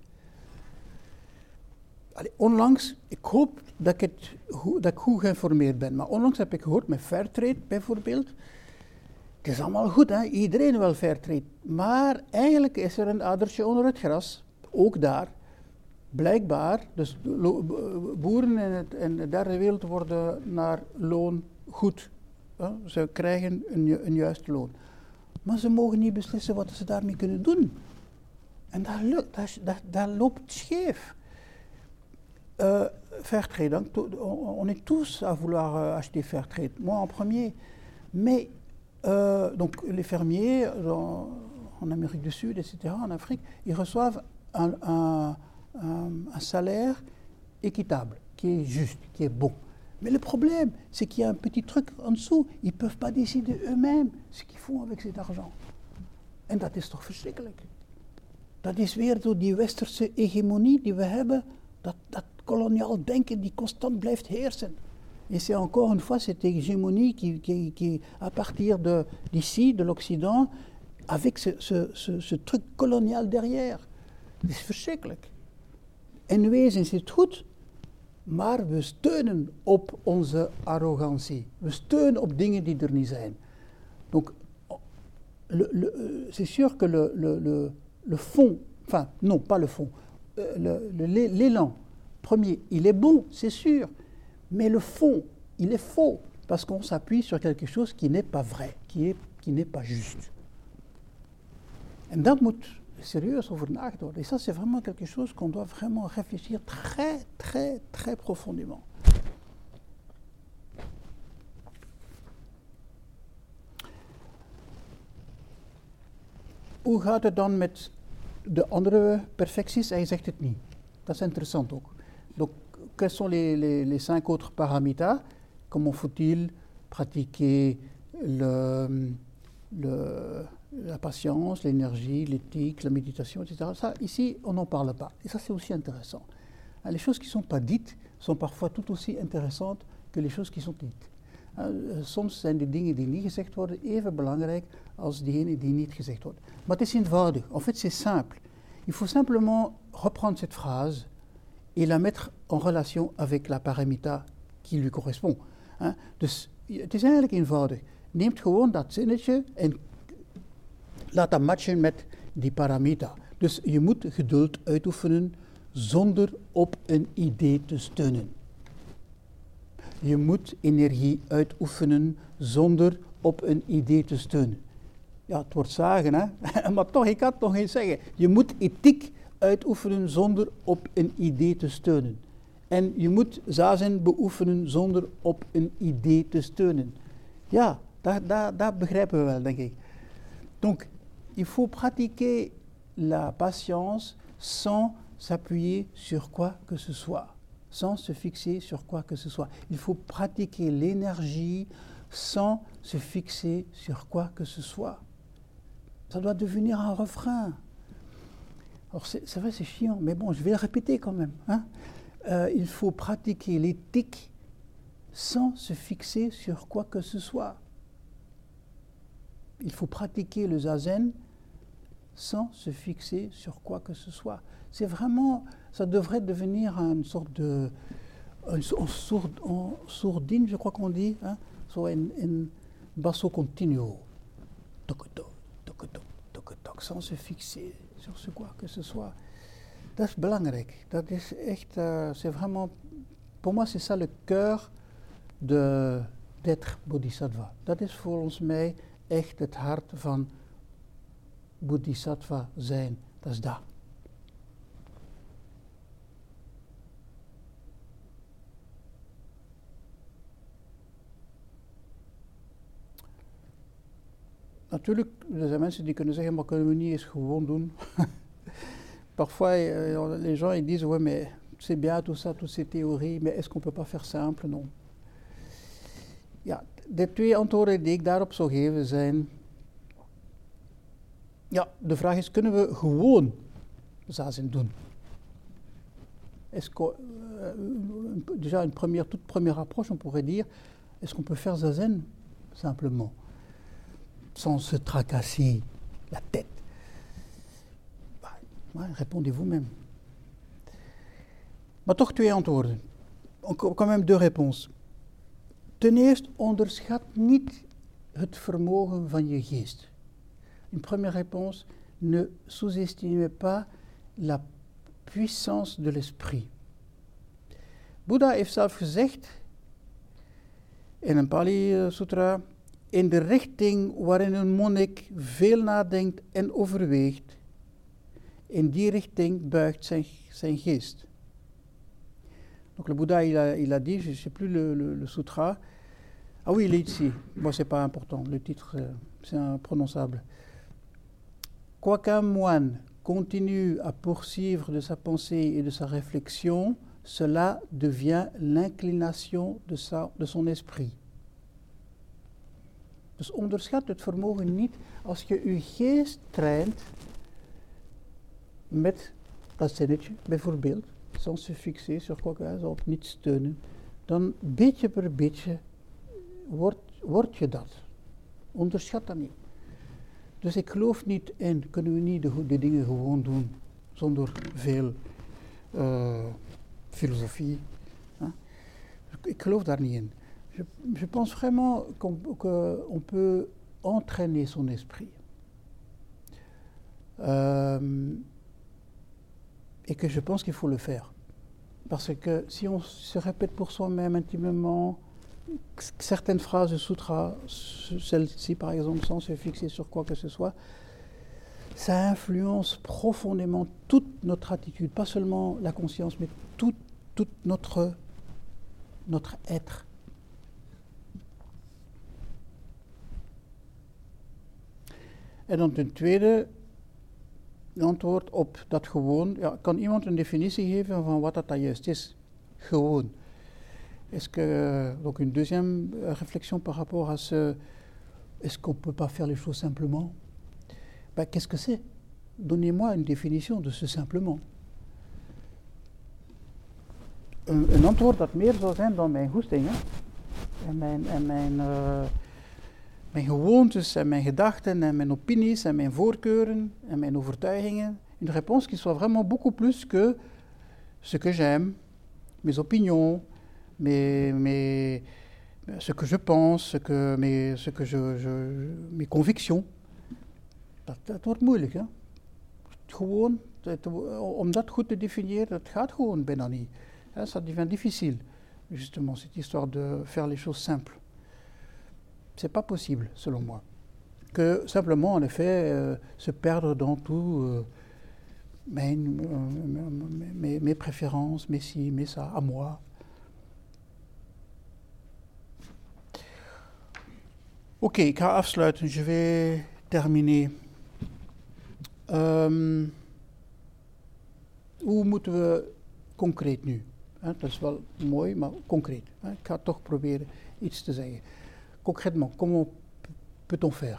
Allee, onlangs, ik hoop dat ik, het, dat ik goed geïnformeerd ben, maar onlangs heb ik gehoord met Fairtrade bijvoorbeeld. Het is allemaal goed, hè? Iedereen wil Fairtrade. Maar eigenlijk is er een adertje onder het gras, ook daar. Blijkbaar, dus boeren in, het, in de derde wereld worden naar loon goed. Hè? Ze krijgen een, een juist loon. Maar ze mogen niet beslissen wat ze daarmee kunnen doen. En dat, lukt, dat, dat, dat loopt scheef. Uh, Fairtrade, donc, on est tous à vouloir uh, acheter Fairtrade, moi en premier. Mais euh, donc, les fermiers dans, en Amérique du Sud, et cetera, en Afrique, ils reçoivent un, un, un, un salaire équitable, qui est juste, qui est bon. Mais le problème, c'est qu'il y a un petit truc en dessous. Ils ne peuvent pas décider eux-mêmes ce qu'ils font avec cet argent. En dat is toch verschrikkelijk. Dat is weer zo die westerse hegemonie die we hebben, dat, dat koloniaal denken die constant blijft heersen. Et c'est encore une fois cette hégémonie qui, qui, qui à partir de, d'ici, de l'Occident, avec ce, ce, ce, ce truc koloniaal derrière. Dat is verschrikkelijk. En wezen is het goed, maar we steunen op onze arrogantie. We steunen op dingen die er niet zijn. Donc, le, le, c'est sûr que le, le, le, le fond, enfin, non, pas le fond, euh, le, le, l'élan premier, il est bon, c'est sûr, mais le fond, il est faux, parce qu'on s'appuie sur quelque chose qui n'est pas vrai, qui, est, qui n'est pas juste. En dat moet sérieus over nagedacht worden. Et ça, c'est vraiment quelque chose qu'on doit vraiment réfléchir très, très, très profondément. Hoe gaat het dan met de andere perfecties? Hij zegt het niet. Dat is interessant ook. Donc, quels sont les, les, les cinq autres paramitas? Comment faut-il pratiquer le, le, la patience, l'énergie, l'éthique, la méditation, et cetera. Ça, ici, on n'en parle pas. Et ça, c'est aussi intéressant. Les choses qui ne sont pas dites sont parfois tout aussi intéressantes que les choses qui sont dites. Soms zijn de dingen die niet gezegd worden even belangrijk als diegenen die niet gezegd worden. Maar het is eenvoudig. En fait, c'est simple. Il faut simplement reprendre cette phrase et la mettre en relation avec la paramita qui lui correspond. Hein? Dus het is eigenlijk eenvoudig. Neemt gewoon dat zinnetje en laat dat matchen met die paramita. Dus je moet geduld uitoefenen zonder op een idee te steunen. Je moet energie uitoefenen zonder op een idee te steunen. Ja, het wordt zagen, hè? Maar toch, ik kan het nog eens zeggen. Je moet ethiek uitoefenen zonder op een idee te steunen. En je moet zazen beoefenen zonder op een idee te steunen. Ja, dat, dat, dat begrijpen we wel, denk ik. Donc, il faut pratiquer la patience sans s'appuyer sur quoi que ce soit, sans se fixer sur quoi que ce soit. Il faut pratiquer l'énergie sans se fixer sur quoi que ce soit. Ça doit devenir un refrain. Alors c'est, c'est vrai, c'est chiant, mais bon, je vais le répéter quand même. Hein. Euh, il faut pratiquer l'éthique sans se fixer sur quoi que ce soit. Il faut pratiquer le zazen sans se fixer sur quoi que ce soit. C'est vraiment, ça devrait devenir une sorte de, une, une sourde, une sourdine, je crois qu'on dit, hein, so in, in basso continuo, toc-toc, toc-toc, toc-toc, sans se fixer sur ce quoi que ce soit. Dat is belangrijk. Dat is echt, uh, c'est vraiment, pour moi c'est ça le cœur de, d'être bodhisattva. Dat is volgens mij echt het hart van bodhisattva zijn. Dat is dat. Natuurlijk, er zijn mensen die kunnen zeggen, maar kunnen we niet eens gewoon doen. Parfois, euh, les gens ils disent, ouais, mais c'est bien tout ça, toutes ces théories, mais est-ce qu'on peut pas faire simple? Non. Ja, de twee antwoorden die ik daarop zou geven zijn, ja, de vraag is, kunnen we gewoon zazen doen? Est-ce que, euh, déjà une première, toute première approche, on pourrait dire, est-ce qu'on peut faire zazen simplement, sans se tracasser la tête? Bah, ouais, répondez vous-même. Maar toch twee antwoorden. Quand même deux réponses. Ten eerste, onderschat niet het vermogen van je geest. Une première réponse, ne sous-estimez pas la puissance de l'esprit. Boeddha heeft zelf gezegd, in een Pali Sutra, in de richting waarin een monnik veel nadenkt en overweegt, in die richting buigt zijn, zijn geest. Donc le Bouddha, il a, il a dit, je ne sais plus le, le, le sutra, ah oui, il est ici, bon c'est pas important, le titre euh, c'est imprononçable. Quoiqu'un moine continue à poursuivre de sa pensée et de sa réflexion, cela devient l'inclination de, sa, de son esprit. Dus onderschat het vermogen niet als je je geest traint met dat zinnetje, bijvoorbeeld, sans se fixer sur quoi que ce soit, op niet steunen, dan beetje per beetje wordt, word je dat. Onderschat dat niet. Dus ik geloof niet in, kunnen we niet de, de dingen gewoon doen, zonder veel uh, filosofie. Huh? Ik geloof daar niet in. Je, je pense vraiment qu'on, qu'on peut entraîner son esprit. Euh, et que je pense qu'il faut le faire. Parce que si on se répète pour soi-même intimement certaines phrases de sutra, celle-ci par exemple, sans se fixer sur quoi que ce soit, ça influence profondément toute notre attitude, pas seulement la conscience, mais tout, tout notre, notre être. En dan ten tweede, antwoord op dat gewoon. Ja, kan iemand een definitie geven van wat dat, dat juist is? Gewoon. Est-ce que, donc une deuxième réflexion par rapport à ce, est-ce qu'on ne peut pas faire les choses simplement? Ben, qu'est-ce que c'est? Donnez-moi une définition de ce simplement. Een, een antwoord dat meer zou zijn dan mijn goestingen en mijn, en mijn, uh, mijn gewoontes en mijn gedachten en mijn opinies en mijn voorkeuren en mijn overtuigingen. Une réponse qui soit vraiment beaucoup plus que ce que j'aime, mes opinions, mes, mes, ce que je pense, ce que, mes, ce que je, je, mes convictions. Dat, dat wordt moeilijk, hè? gewoon, te, om dat goed te definiëren, dat gaat gewoon bijna niet. Hein, ça devient difficile, justement, cette histoire de faire les choses simples. C'est pas possible, selon moi. Que simplement, en effet, euh, se perdre dans tout, euh, mes, mes, mes préférences, mes ci, mes ça, à moi. Oké, okay, ik ga afsluiten. Je vais terminer. Um, hoe moeten we concreet nu? Hè, dat is wel mooi, maar concreet. Hè? Ik ga toch proberen iets te zeggen. Concrètement, comment peut-on faire?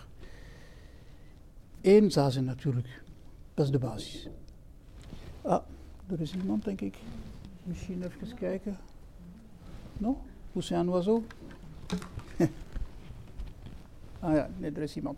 Eén zazen natuurlijk. Dat is de basis. Ah, er is iemand, denk ik. Misschien even kijken. Non? Pousser un oiseau? Ah ja, nee, er is iemand.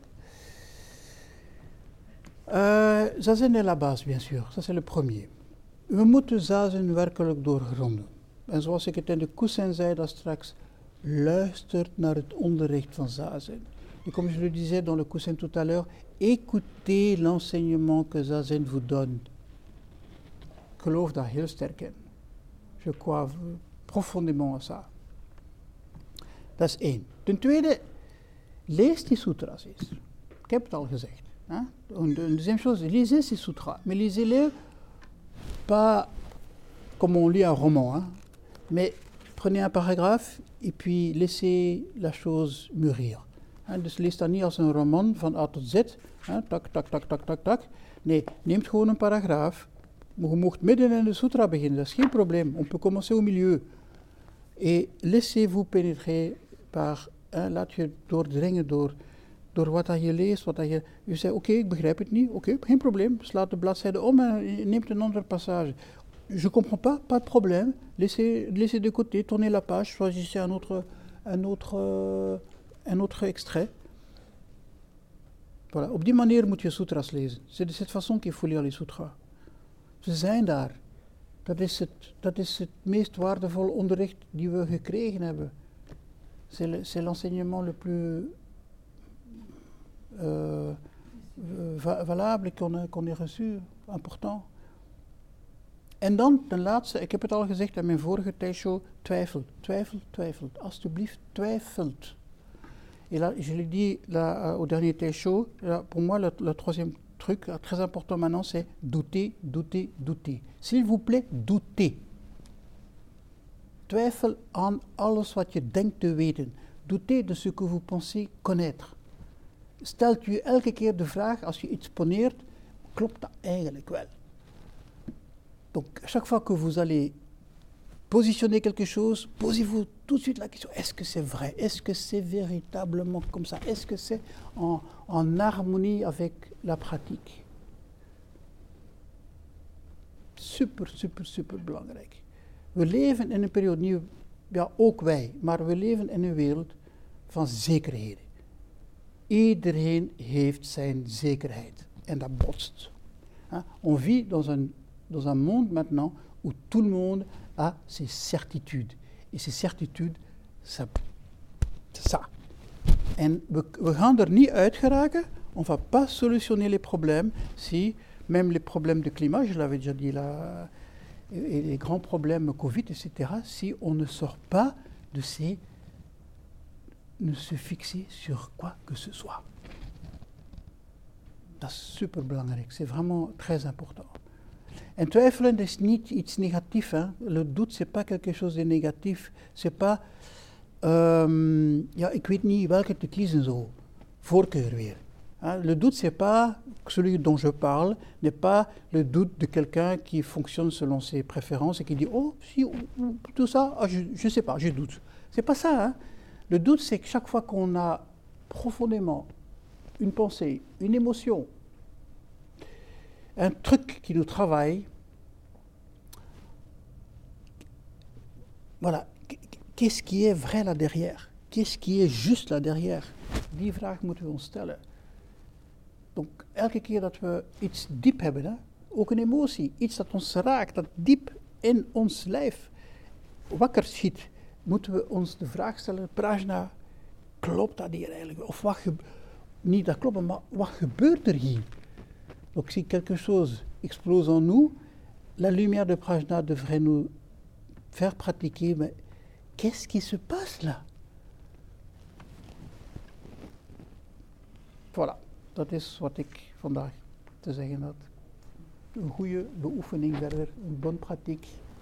Uh, zazen est la base, bien sûr. Ça, c'est le premier. We moeten zazen werkelijk doorgronden. En zoals ik het in de Cousin zei daar straks, luistert naar het onderricht van zazen. Et comme je le disais dans le Cousin tout à l'heure, écoutez l'enseignement que zazen vous donne. Ik geloof daar heel sterk in. Je crois profondément à ça. Dat is één. Ten tweede, lees die sutras eens. Ik heb het al gezegd. Hein? Une deuxième chose, lisez ces sutras, mais lisez-les pas comme on lit un roman, hein? Mais prenez un paragraphe et puis laissez la chose mûrir. Hein? Dus lees dat niet als een roman van A tot Z, hein? tak, tak, tak, tak, tak, tak. Nee, neemt gewoon een paragraaf. Je mocht midden in de sutra beginnen, dat is geen probleem. On peut commencer au milieu. Et laissez-vous pénétrer par, hein, laat je doordringen door, door wat dat je leest, wat dat je... Je zegt, oké, okay, ik begrijp het niet, oké, okay, geen probleem. Slaat de bladzijde om en neemt een andere passage. Je comprends pas, pas de problème. Laissez, laissez de côté, tournez la page, choisissez un autre, un autre, uh, un autre extrait. Voilà, op die manier moet je sutras lezen. C'est de cette façon qu'il faut lire les sutras. Ze zijn daar. Dat is het, dat is het meest waardevolle onderricht die we gekregen hebben. C'est, le, c'est l'enseignement le plus euh, va, valable qu'on, a, qu'on ait reçu, important. En dan ten laatste, ik heb het al gezegd in mijn vorige tijdshow, twijfel, twijfel, twijfel. Alsjeblieft, twijfelt. Et là, je l'ai dit là, au dernier tijdshow, pour moi, le, le troisième truc très important maintenant, c'est douter, douter, douter. S'il vous plaît, doutez. Twijfel aan alles wat je denkt te weten. Doutez de ce que vous pensez connaître. Stelt u elke keer de vraag, als je iets poneert, klopt dat eigenlijk wel? Donc, chaque fois que vous allez positionner quelque chose, posez-vous tout de suite la question, est-ce que c'est vrai? Est-ce que c'est véritablement comme ça? Est-ce que c'est en, en harmonie avec la pratique? Super, super, super belangrijk. We leven in een periode, niet, ja, ook wij, maar we leven in een wereld van zekerheden. Iedereen heeft zijn zekerheid en dat botst. Hein? On vit dans un, dans un monde maintenant où tout le monde a ses certitudes. Et ces certitudes, ça, c'est ça. En we, we gaan er niet uit geraken, on va pas solutionner les problèmes si, même les problèmes de climat, je l'avais déjà dit là, et les grands problèmes Covid, et cetera, si on ne sort pas de ces... ne se fixer sur quoi que ce soit. Dat is super belangrijk, c'est vraiment très important. En twijfelen is niet iets negatiefs. Hein? Le doute, c'est pas quelque chose de négatif. C'est pas, um, ja, ik weet niet welke te kiezen zo. Voorkeur weer. Hein? Le doute, c'est pas, celui dont je parle, n'est pas le doute de quelqu'un qui fonctionne selon ses préférences et qui dit, oh, si, tout ça, ah, je ne sais pas, je doute. C'est pas ça, hein? Le doute, c'est que chaque fois qu'on a profondément une pensée, une émotion, un truc qui nous travaille, voilà, qu'est-ce qui est vrai là derrière? Qu'est-ce qui est juste là derrière? Die vraag moeten we ons stellen. Donc, elke keer dat we iets diep hebben, hè, ook een emotie, iets dat ons raakt, dat diep in ons lijf wakker schiet, moeten we ons de vraag stellen, Prajna, klopt dat hier eigenlijk? Of wat ge- niet dat klopt, maar wat gebeurt er hier? Donc si quelque chose explose en nous, la lumière de Prajna devrait nous faire pratiquer, mais qu'est-ce qui se passe là? Voilà, dat is wat ik vandaag te zeggen had. Een goede beoefening verder, een bonne pratique.